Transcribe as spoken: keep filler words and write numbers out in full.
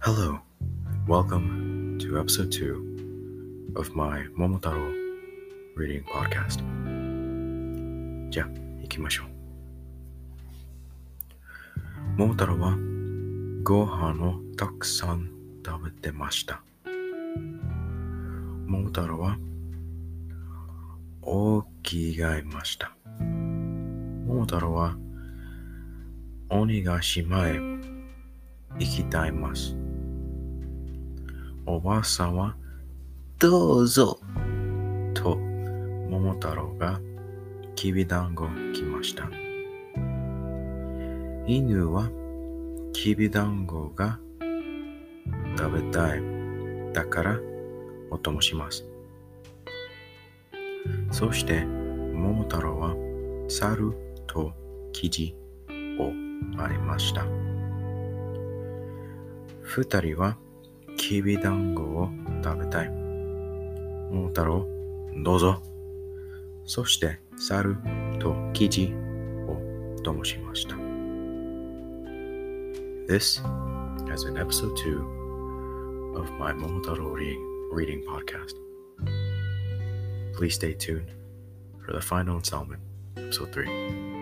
Hello, welcome to episode two of my Momotaro reading podcast. じゃあ、行きましょう。桃太郎はご飯をたくさん食べてました。桃太郎は大きがいました。桃太郎は鬼ヶ島へ行きたいます。おばあさんはどうぞと桃太郎がきびだんご来ました。犬はきびだんごが食べたい。だからお供します。そして桃太郎は猿とキジをありました。二人はきびだんごを食べたい。桃太郎、どうぞ。そして猿とキジを供しました。This has been episode two of my Momotaro reading, reading podcast. Please stay tuned for the final installment, episode three.